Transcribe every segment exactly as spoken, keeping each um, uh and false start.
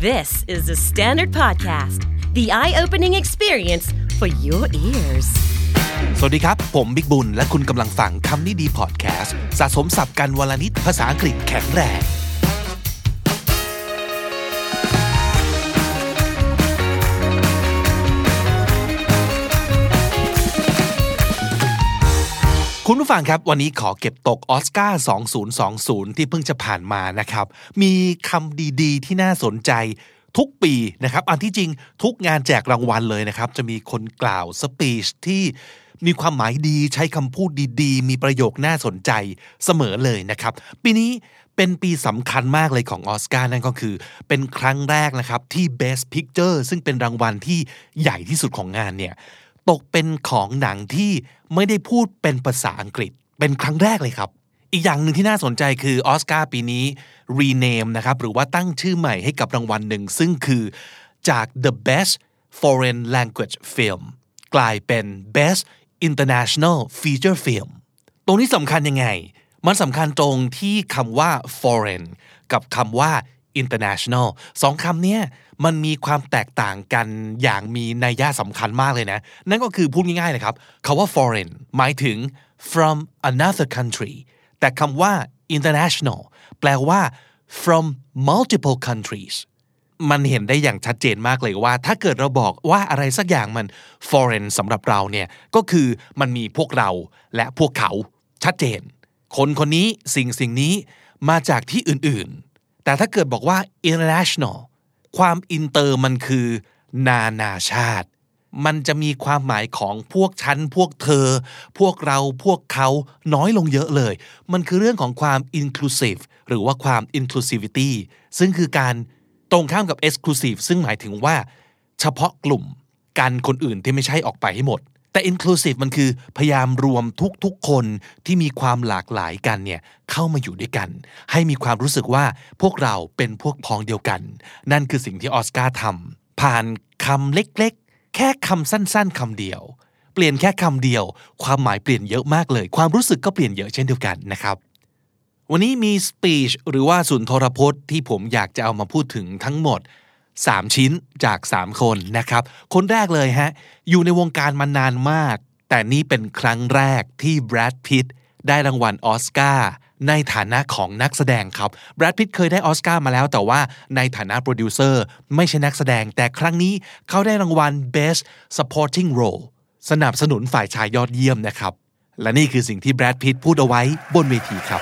This is the Standard Podcast, the eye-opening experience for your ears. สวัสดีครับผมบิ๊กบุญและคุณกำลังฟังคำนี้ดีพอดแคสต์สะสมศัพท์กันวลนิดภาษาอังกฤษแข็งแรงคุณผู้ฟังครับวันนี้ขอเก็บตกออสการ์สองพันยี่สิบที่เพิ่งจะผ่านมานะครับมีคำดีๆที่น่าสนใจทุกปีนะครับอันที่จริงทุกงานแจกรางวัลเลยนะครับจะมีคนกล่าวสปีชที่มีความหมายดีใช้คำพูดดีๆมีประโยคน่าสนใจเสมอเลยนะครับปีนี้เป็นปีสำคัญมากเลยของออสการ์นั่นก็คือเป็นครั้งแรกนะครับที่ Best Picture ซึ่งเป็นรางวัลที่ใหญ่ที่สุดของงานเนี่ยตกเป็นของหนังที่ไม่ได้พูดเป็นภาษาอังกฤษเป็นครั้งแรกเลยครับอีกอย่างหนึ่งที่น่าสนใจคือออสการ์ปีนี้ rename นะครับหรือว่าตั้งชื่อใหม่ให้กับรางวัลหนึ่งซึ่งคือจาก the best foreign language film กลายเป็น best international feature film ตรงนี้สำคัญยังไงมันสำคัญตรงที่คำว่า foreign กับคำว่า international สองคำนี้มันมีความแตกต่างกันอย่างมีนัยสำคัญมากเลยนะนั่นก็คือพูดง่ายๆเลยครับคำว่า foreign หมายถึง from another country แต่คำว่า international แปลว่า from multiple countries มันเห็นได้อย่างชัดเจนมากเลยว่าถ้าเกิดเราบอกว่าอะไรสักอย่างมัน foreign สำหรับเราเนี่ยก็คือมันมีพวกเราและพวกเขาชัดเจนคนคนนี้สิ่งสิ่งนี้มาจากที่อื่นๆแต่ถ้าเกิดบอกว่า international ความอินเตอร์มันคือนานาชาติมันจะมีความหมายของพวกฉันพวกเธอพวกเราพวกเขาน้อยลงเยอะเลยมันคือเรื่องของความ inclusive หรือว่าความ inclusivity ซึ่งคือการตรงข้ามกับ exclusive ซึ่งหมายถึงว่าเฉพาะกลุ่มกันคนอื่นที่ไม่ใช่ออกไปให้หมดแต่ inclusive มันคือพยายามรวมทุกๆคนที่มีความหลากหลายกันเนี่ยเข้ามาอยู่ด้วยกันให้มีความรู้สึกว่าพวกเราเป็นพวกพ้องเดียวกันนั่นคือสิ่งที่ออสการ์ทำผ่านคำเล็กๆแค่คำสั้นๆคำเดียวเปลี่ยนแค่คำเดียวความหมายเปลี่ยนเยอะมากเลยความรู้สึกก็เปลี่ยนเยอะเช่นเดียวกันนะครับวันนี้มีสปีชหรือว่าสุนทรพจน์ที่ผมอยากจะเอามาพูดถึงทั้งหมดสามชิ้นจากสามคนนะครับคนแรกเลยฮะอยู่ในวงการมานานมากแต่นี่เป็นครั้งแรกที่แบรดพิตต์ได้รางวัลออสการ์ในฐานะของนักแสดงครับแบรดพิตต์เคยได้ออสการ์มาแล้วแต่ว่าในฐานะโปรดิวเซอร์ไม่ใช่นักแสดงแต่ครั้งนี้เขาได้รางวัล Best Supporting Role สนับสนุนฝ่ายชายยอดเยี่ยมนะครับและนี่คือสิ่งที่แบรดพิตต์พูดเอาไว้บนเวทีครับ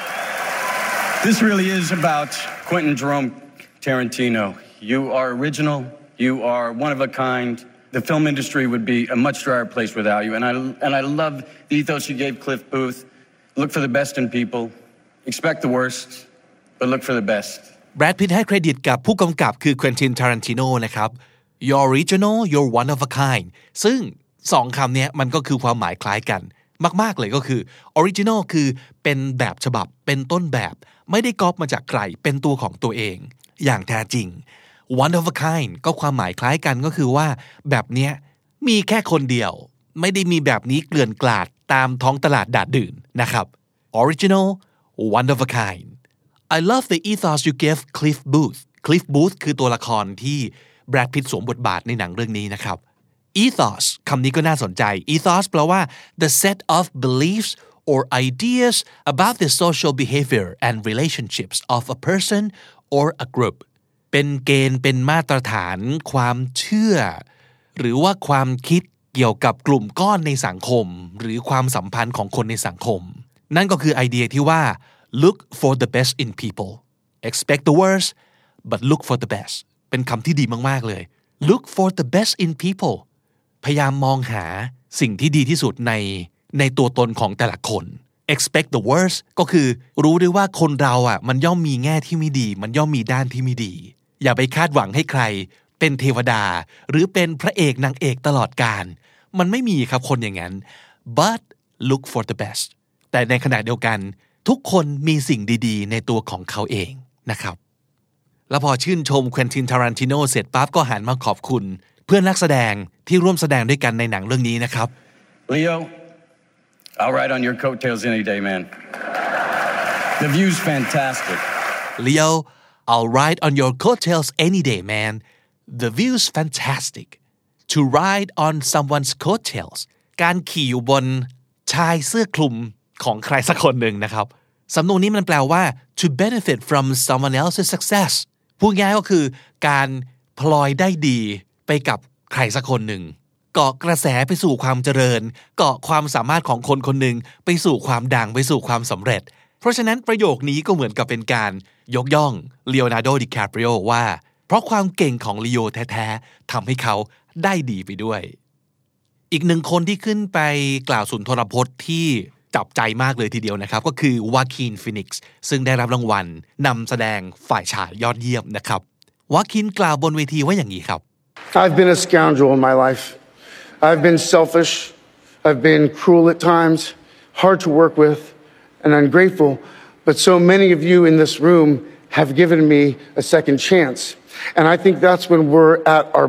This really is about Quentin Jerome Tarantino. You are original. You are one of a kind. The film industry would be a much drier place without you. And I and I love the ethos you gave Cliff Booth. Look for the best in people. Expect the worst, but look for the best. Brad Pitt ให้เครดิตกับผู้กำกับคือ Quentin Tarantino นะครับ You're original. You're one of a kind. ซึ่งสองคำนี้มันก็คือความหมายคล้ายกันมากๆเลยก็คือ original คือเป็นแบบฉบับเป็นต้นแบบไม่ได้ก๊อปมาจากใครเป็นตัวของตัวเองอย่างแท้จริงone of a kind ก็ความหมายคล้ายกันก็คือว่าแบบเนี้ยมีแค่คนเดียวไม่ได้มีแบบนี้เกลื่อนกลาดตามท้องตลาดดาดดื่นนะครับ original one of a kind I love the ethos you gave Cliff Booth Cliff Booth คือตัวละครที่แบรดพิตต์สวมบทบาทในหนังเรื่องนี้นะครับ ethos คำนี้ก็น่าสนใจ ethos แปลว่า the set of beliefs or ideas about the social behavior and relationships of a person or a groupเป็นเกณฑ์เป็นมาตรฐานความเชื่อหรือว่าความคิดเกี่ยวกับกลุ่มก้อนในสังคมหรือความสัมพันธ์ของคนในสังคมนั่นก็คือไอเดียที่ว่า look for the best in people expect the worst but look for the best เป็นคำที่ดีมากๆเลย look for the best in people พยายามมองหาสิ่งที่ดีที่สุดในในตัวตนของแต่ละคน expect the worst ก็คือรู้ด้วยว่าคนเราอ่ะมันย่อมมีแง่ที่ไม่ดีมันย่อมมีด้านที่ไม่ดีอย่าไปคาดหวังให้ใครเป็นเทวดาหรือเป็นพระเอกนางเอกตลอดกาลมันไม่มีครับคนอย่างนั้น but look for the best แต่ในขณะเดียวกันทุกคนมีสิ่งดีๆในตัวของเขาเองนะครับแล้วพอชื่นชมเควินติน ทารันติโนเสร็จปั๊บก็หันมาขอบคุณเพื่อนนักแสดงที่ร่วมแสดงด้วยกันในหนังเรื่องนี้นะครับ Leo I'll ride on your coattails any day man The view's fantastic Leo I'll ride on your coattails any day man the view's fantastic to ride on someone's coattails การขี่อยู่บนชายเสื้อคลุมของใครสักคนหนึ่งนะครับสำนวนนี้มันแปลว่า to benefit from someone else's success พูดง่ายก็คือการพลอยได้ดีไปกับใครสักคนหนึ่งเกาะกระแสไปสู่ความเจริญเกาะความสามารถของคนคนหนึ่งไปสู่ความดังไปสู่ความสำเร็จเพราะฉะนั้นประโยคนี้ก็เหมือนกับเป็นการยกย่องลีโอนาร์โด ดิคาปริโอว่าเพราะความเก่งของลีโอแท้ๆทำให้เขาได้ดีไปด้วยอีกหนึ่งคนที่ขึ้นไปกล่าวสุนทรพจน์ที่จับใจมากเลยทีเดียวนะครับก็คือวาคินฟีนิกซ์ซึ่งได้รับรางวัลนำแสดงฝ่ายชายยอดเยี่ยมนะครับวาคินกล่าวบนเวทีว่าอย่างนี้ครับ I've been a scoundrel in my life. I've been selfish. I've been cruel at times, hard to work with, and ungrateful. But so many of you in this room have given me a second chance. And I think that's when we're at our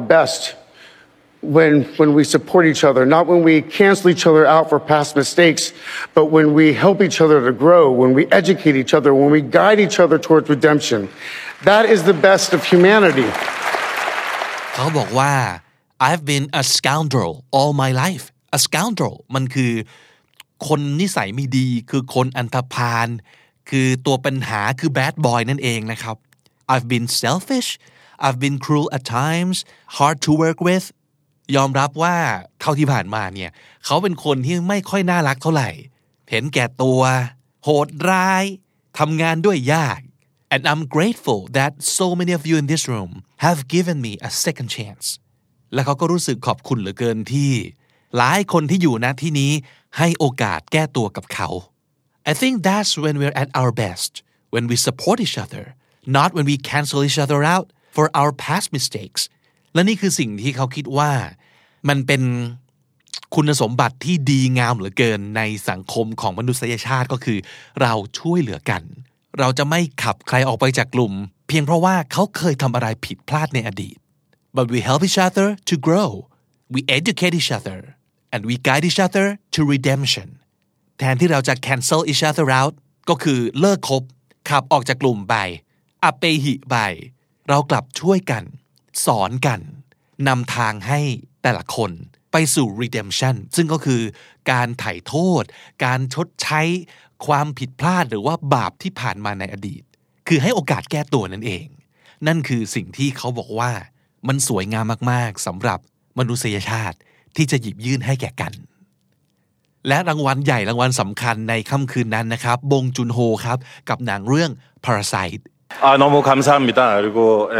best.When, when we support each other, not when we cancel each other out for past mistakes, but when we help each other to grow, when we educate each other, when we guide each other towards redemption. That is the best of humanity. เขาบอกว่า I've been a scoundrel all my life. A scoundrel มันคือคนนิสัยไม่ดีคือคนอันธพาลคือตัวปัญหาคือ bad boy นั่นเองนะครับ I've been selfish. I've been cruel at times, hard to work with.ยอมรับว่าเท่าที่ผ่านมาเนี่ยเขาเป็นคนที่ไม่ค่อยน่ารักเท่าไหร่เห็นแก่ตัวโหดร้ายทำงานด้วยยาก and I'm grateful that so many of you in this room have given me a second chance และเขาก็รู้สึกขอบคุณเหลือเกินที่หลายคนที่อยู่ณที่นี้ให้โอกาสแก้ตัวกับเขา I think that's when we're at our best when we support each other not when we cancel each other out for our past mistakesและนี่คือสิ่งที่เขาคิดว่ามันเป็นคุณสมบัติที่ดีงามเหลือเกินในสังคมของมนุษยชาติก็คือเราช่วยเหลือกันเราจะไม่ขับใครออกไปจากกลุ่มเพียงเพราะว่าเขาเคยทำอะไรผิดพลาดในอดีต but we help each other to grow we educate each other and we guide each other to redemption แทนที่เราจะ cancel each other out ก็คือเลิกคบขับออกจากกลุ่มไปอเปหิไปเรากลับช่วยกันสอนกันนำทางให้แต่ละคนไปสู่ redemption ซึ่งก็คือการไถ่โทษการชดใช้ความผิดพลาดหรือว่าบาปที่ผ่านมาในอดีตคือให้โอกาสแก้ตัวนั่นเองนั่นคือสิ่งที่เขาบอกว่ามันสวยงามมากๆสำหรับมนุษยชาติที่จะหยิบยื่นให้แก่กันและรางวัลใหญ่รางวัลสำคัญในค่ำคืนนั้นนะครับบงจุนโฮครับกับหนังเรื่อง Parasite 아 너무 감사합니다. 그리고 예.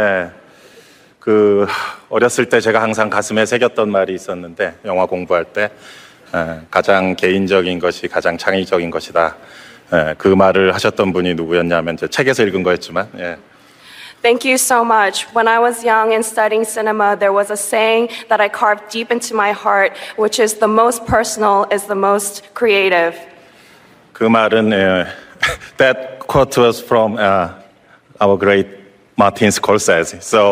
그 어렸을 때 제가 항상 가슴에 새겼던 말이 있었는데 영화 공부할 때 에, 가장 개인적인 것이 가장 창의적인 것이다. 에, 그 말을 하셨던 분이 누구였냐면 제 책에서 읽은 거였지만 예. Thank you so much. When I was young and studying cinema, there was a saying that I carved deep into my heart, which is the most personal is the most creative. 그 말은 예, that quote was from uh, our great Martin Scorsese. So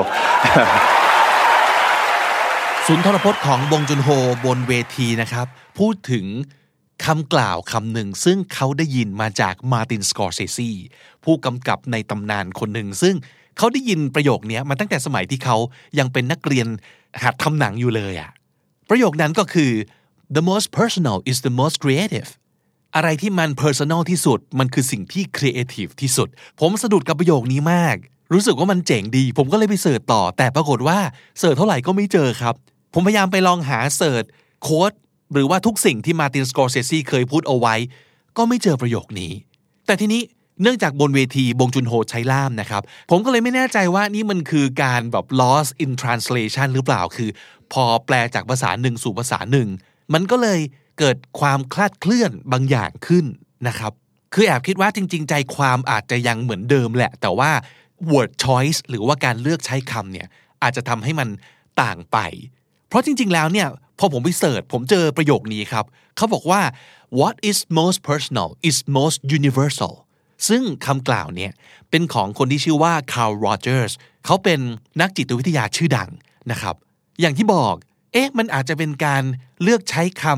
สุนทรพจน์ของบงจุนโฮบนเวทีนะครับพูดถึงคำกล่าวคำหนึ่งซึ่งเขาได้ยินมาจากมาร์ตินสกอร์เซซีผู้กำกับในตำนานคนหนึ่งซึ่งเขาได้ยินประโยคนี้มาตั้งแต่สมัยที่เขายังเป็นนักเรียนหัดทำหนังอยู่เลยอะประโยคนั้นก็คือ the most personal is the most creative อะไรที่มัน personal ที่สุดมันคือสิ่งที่ creative ที่สุดผมสะดุดกับประโยคนี้มากรู้สึกว่ามันเจ๋งดีผมก็เลยไปเสิร์ชต่อแต่ปรากฏว่าเสิร์ชเท่าไหร่ก็ไม่เจอครับผมพยายามไปลองหาเสิร์ชโค้ดหรือว่าทุกสิ่งที่มาร์ตินสกอร์เซซีเคยพูดเอาไว้ก็ไม่เจอประโยคนี้แต่ทีนี้เนื่องจากบนเวทีบงจุนโฮใช้ล่ามนะครับผมก็เลยไม่แน่ใจว่านี่มันคือการแบบ lost in translation หรือเปล่าคือพอแปลจากภาษาหนึ่งสู่ภาษาหนึ่งมันก็เลยเกิดความคลาดเคลื่อนบางอย่างขึ้นนะครับคือแอบคิดว่าจริงๆใจความอาจจะยังเหมือนเดิมแหละแต่ว่า word choice หรือว่าการเลือกใช้คำเนี่ยอาจจะทำให้มันต่างไปเพราะจริงๆแล้วเนี่ยพอผมไปเสิร์ชผมเจอประโยคนี้ครับเขาบอกว่า what is most personal is most universal ซึ่งคำกล่าวเนี่ยเป็นของคนที่ชื่อว่า Carl Rogers เขาเป็นนักจิตวิทยาชื่อดังนะครับอย่างที่บอกเอ๊ะมันอาจจะเป็นการเลือกใช้ค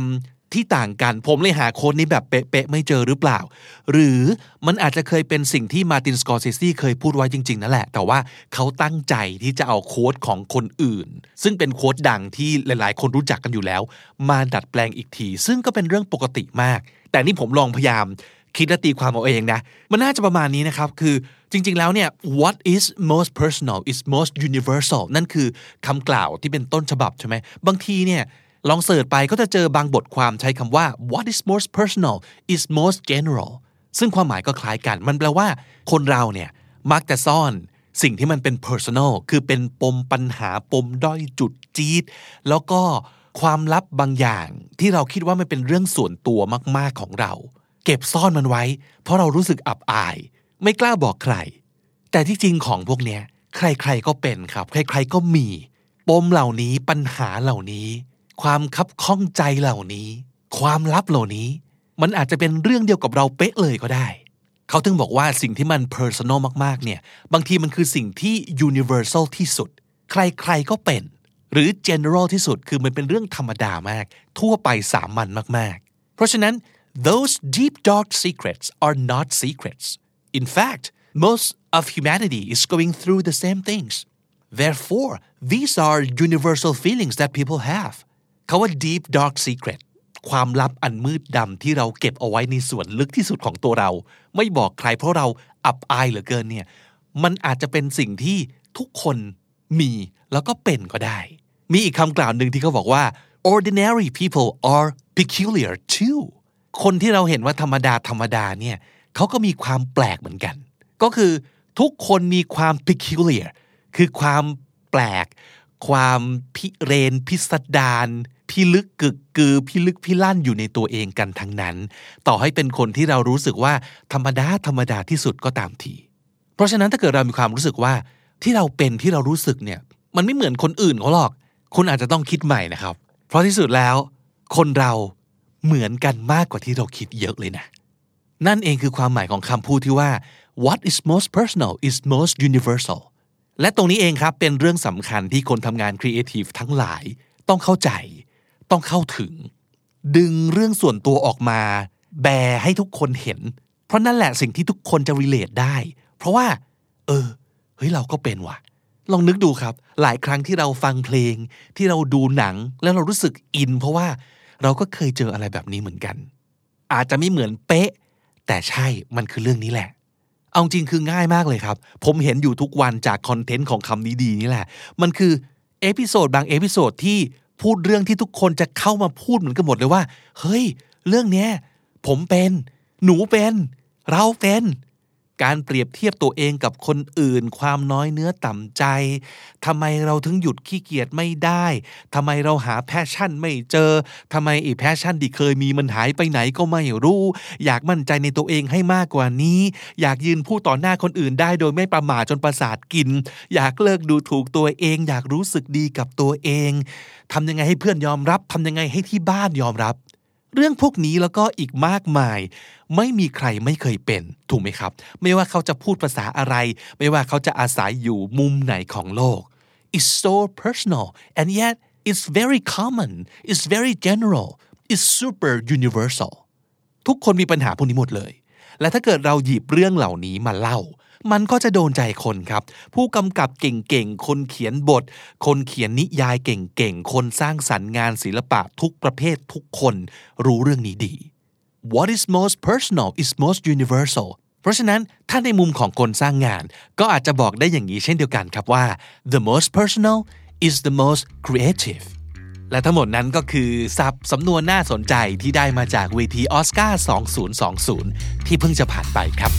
ที่ต่างกันผมเลยหาโค้ดนี้แบบเป๊ะๆไม่เจอหรือเปล่าหรือมันอาจจะเคยเป็นสิ่งที่มาร์ตินสกอร์เซซีเคยพูดไว้จริงๆนั่นแหละแต่ว่าเขาตั้งใจที่จะเอาโค้ดของคนอื่นซึ่งเป็นโค้ดดังที่หลายๆคนรู้จักกันอยู่แล้วมาดัดแปลงอีกทีซึ่งก็เป็นเรื่องปกติมากแต่นี่ผมลองพยายามคิดและตีความเอาเองนะมันน่าจะประมาณนี้นะครับคือจริงๆแล้วเนี่ย what is most personal is most universal นั่นคือคำกล่าวที่เป็นต้นฉบับใช่ไหมบางทีเนี่ยลองเสิร์ชไปก็จะเจอบางบทความใช้คำว่า what is most personal is most general ซึ่งความหมายก็คล้ายกันมันแปลว่าคนเราเนี่ยมักจะซ่อนสิ่งที่มันเป็น personal คือเป็นปมปัญหาปมด้อยจุดจี๊ดแล้วก็ความลับบางอย่างที่เราคิดว่ามันเป็นเรื่องส่วนตัวมากๆของเราเก็บซ่อนมันไว้เพราะเรารู้สึกอับอายไม่กล้าบอกใครแต่ที่จริงของพวกเนี้ยใครๆก็เป็นครับใครๆก็มีปมเหล่านี้ปัญหาเหล่านี้ความคับข้องใจเหล่านี้ความลับเหล่านี้มันอาจจะเป็นเรื่องเดียวกับเราเป๊ะเลยก็ได้เขาถึงบอกว่าสิ่งที่มัน personal มากๆเนี่ยบางทีมันคือสิ่งที่ universal ที่สุดใครๆก็เป็นหรือ general ที่สุดคือมันเป็นเรื่องธรรมดามากทั่วไปสามัญมากๆเพราะฉะนั้น those deep dark secrets are not secrets in fact most of humanity is going through the same things therefore these are universal feelings that people haveคำว่า deep dark secret ความลับอันมืดดำที่เราเก็บเอาไว้ในส่วนลึกที่สุดของตัวเราไม่บอกใครเพราะเราอับอายเหลือเกินเนี่ยมันอาจจะเป็นสิ่งที่ทุกคนมีแล้วก็เป็นก็ได้มีอีกคำกล่าวหนึ่งที่เขาบอกว่า ordinary people are peculiar too คนที่เราเห็นว่าธรรมดาธรรมดาเนี่ยเขาก็มีความแปลกเหมือนกันก็คือทุกคนมีความ peculiar คือความแปลกความพิเรนพิสดารพิลึกกึกกือพิลึกพิลั่นอยู่ในตัวเองกันทั้งนั้นต่อให้เป็นคนที่เรารู้สึกว่าธรรมดาธรรมดาที่สุดก็ตามทีเพราะฉะนั้นถ้าเกิดเรามีความรู้สึกว่าที่เราเป็นที่เรารู้สึกเนี่ยมันไม่เหมือนคนอื่นเขาหรอกคุณอาจจะต้องคิดใหม่นะครับเพราะที่สุดแล้วคนเราเหมือนกันมากกว่าที่เราคิดเยอะเลยนะนั่นเองคือความหมายของคำพูดที่ว่า what is most personal is most universal และตรงนี้เองครับเป็นเรื่องสำคัญที่คนทำงานครีเอทีฟทั้งหลายต้องเข้าใจต้องเข้าถึงดึงเรื่องส่วนตัวออกมาแบร์ให้ทุกคนเห็นเพราะนั่นแหละสิ่งที่ทุกคนจะ relate ได้เพราะว่าเออเฮ้ยเราก็เป็นว่ะลองนึกดูครับหลายครั้งที่เราฟังเพลงที่เราดูหนังแล้วเรารู้สึกอินเพราะว่าเราก็เคยเจออะไรแบบนี้เหมือนกันอาจจะไม่เหมือนเป๊ะแต่ใช่มันคือเรื่องนี้แหละเอาจริงคือง่ายมากเลยครับผมเห็นอยู่ทุกวันจากคอนเทนต์ของคำนี้ดีนี่แหละมันคือเอพิโซดบางเอพิโซดที่พูดเรื่องที่ทุกคนจะเข้ามาพูดเหมือนกันหมดเลยว่าเฮ้ยเรื่องเนี้ยผมเป็นหนูเป็นเราเป็นการเปรียบเทียบตัวเองกับคนอื่นความน้อยเนื้อต่ำใจทำไมเราถึงหยุดขี้เกียจไม่ได้ทำไมเราหาแพชชั่นไม่เจอทำไมอีแพชชั่นที่เคยมีมันหายไปไหนก็ไม่รู้อยากมั่นใจในตัวเองให้มากกว่านี้อยากยืนพูดต่อหน้าคนอื่นได้โดยไม่ประมาทจนประสาทกินอยากเลิกดูถูกตัวเองอยากรู้สึกดีกับตัวเองทำยังไงให้เพื่อนยอมรับทำยังไงให้ที่บ้านยอมรับเรื่องพวกนี้แล้วก็อีกมากมายไม่มีใครไม่เคยเป็นถูกไหมครับไม่ว่าเขาจะพูดภาษาอะไรไม่ว่าเขาจะอาศัยอยู่มุมไหนของโลก It's so personal and yet it's very common it's very general it's super universal ทุกคนมีปัญหาพวกนี้หมดเลยและถ้าเกิดเราหยิบเรื่องเหล่านี้มาเล่ามันก็จะโดนใจคนครับผู้กำกับเก่งๆคนเขียนบทคนเขียนนิยายเก่งๆคนสร้างสรรค์งานศิลปะทุกประเภททุกคนรู้เรื่องนี้ดี What is most personal is most universal เพราะฉะนั้นถ้าในมุมของคนสร้างงานก็อาจจะบอกได้อย่างนี้เช่นเดียวกันครับว่า the most personal is the most creative และทั้งหมดนั้นก็คือศัพท์สำนวนน่าสนใจที่ได้มาจากเวทีออสการ์สองพันยี่สิบที่เพิ่งจะผ่านไปครับ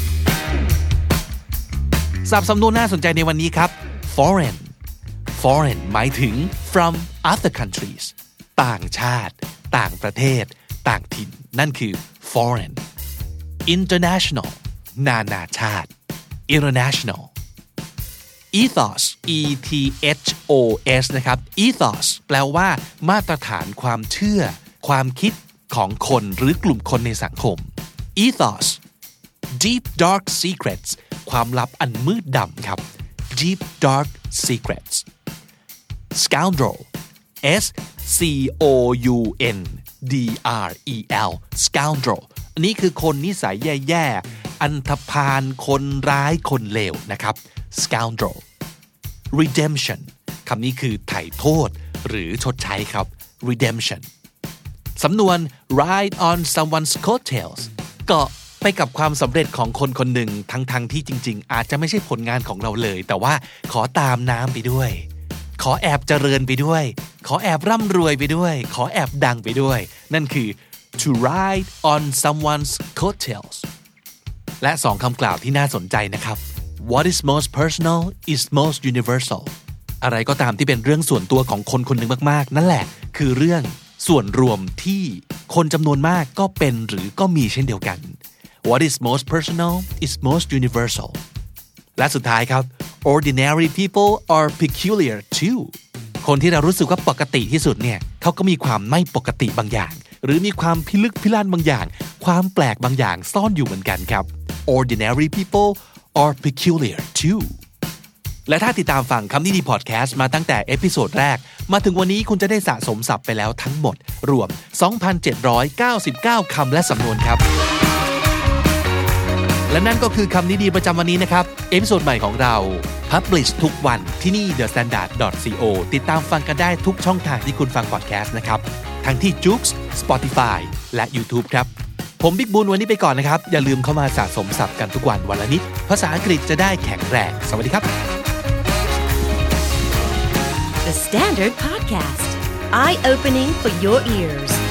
ศัพท์สำนวนน่าสนใจในวันนี้ครับ foreign foreign หมายถึง from other countries ต่างชาติต่างประเทศต่างถิ่นนั่นคือ foreign international นานาชาติ international ethos e t h o s นะครับ ethos แปลว่ามาตรฐานความเชื่อความคิดของคนหรือกลุ่มคนในสังคม ethos deep dark secrets ความลับอันมืดดำครับ deep dark secrets scoundrel s c o u n D R E L scoundrel อันนี้คือคนนิสัยแย่ๆอันธพาลคนร้ายคนเลวนะครับ scoundrel redemption คำนี้คือไถ่โทษหรือชดใช้ครับ redemption สำนวน ride on someone's coattails ก็ไปกับความสำเร็จของคนคนหนึ่งทั้งๆที่จริงๆอาจจะไม่ใช่ผลงานของเราเลยแต่ว่าขอตามน้ำไปด้วยขอแอบเจริญไปด้วยขอแอบร่ำรวยไปด้วยขอแอบดังไปด้วยนั่นคือ to ride on someone's coattails และสองคำกล่าวที่น่าสนใจนะครับ What is most personal is most universal อะไรก็ตามที่เป็นเรื่องส่วนตัวของคนคนหนึ่งมากๆนั่นแหละคือเรื่องส่วนรวมที่คนจำนวนมากก็เป็นหรือก็มีเช่นเดียวกัน What is most personal is most universal และสุดท้ายครับ Ordinary people are peculiar too คนที่เรารู้สึกว่าปกติที่สุดเนี่ยเขาก็มีความไม่ปกติบางอย่างหรือมีความพิลึกพิลั่นบางอย่างความแปลกบางอย่างซ่อนอยู่เหมือนกันครับ Ordinary people are peculiar too และถ้าติดตามฟังคำนี้ดีพอดแคสต์มาตั้งแต่เอพิโซดแรกมาถึงวันนี้คุณจะได้สะสมศัพท์ไปแล้วทั้งหมดรวม สองพันเจ็ดร้อยเก้าสิบเก้า คำและสำนวนครับและนั่นก็คือคำนี้ดีประจำวันนี้นะครับเอพิโซดใหม่ของเรา Publish ทุกวันที่นี่ the standard dot co ติดตามฟังกันได้ทุกช่องทางที่คุณฟังพอดแคสต์นะครับทั้งที่ Joox Spotify และ YouTube ครับผมบิ๊กบุญวันนี้ไปก่อนนะครับอย่าลืมเข้ามาสะสมศัพท์กันทุกวันวันละนิดภาษาอังกฤษจะได้แข็งแรงสวัสดีครับ The Standard Podcast Eye Opening for Your Ears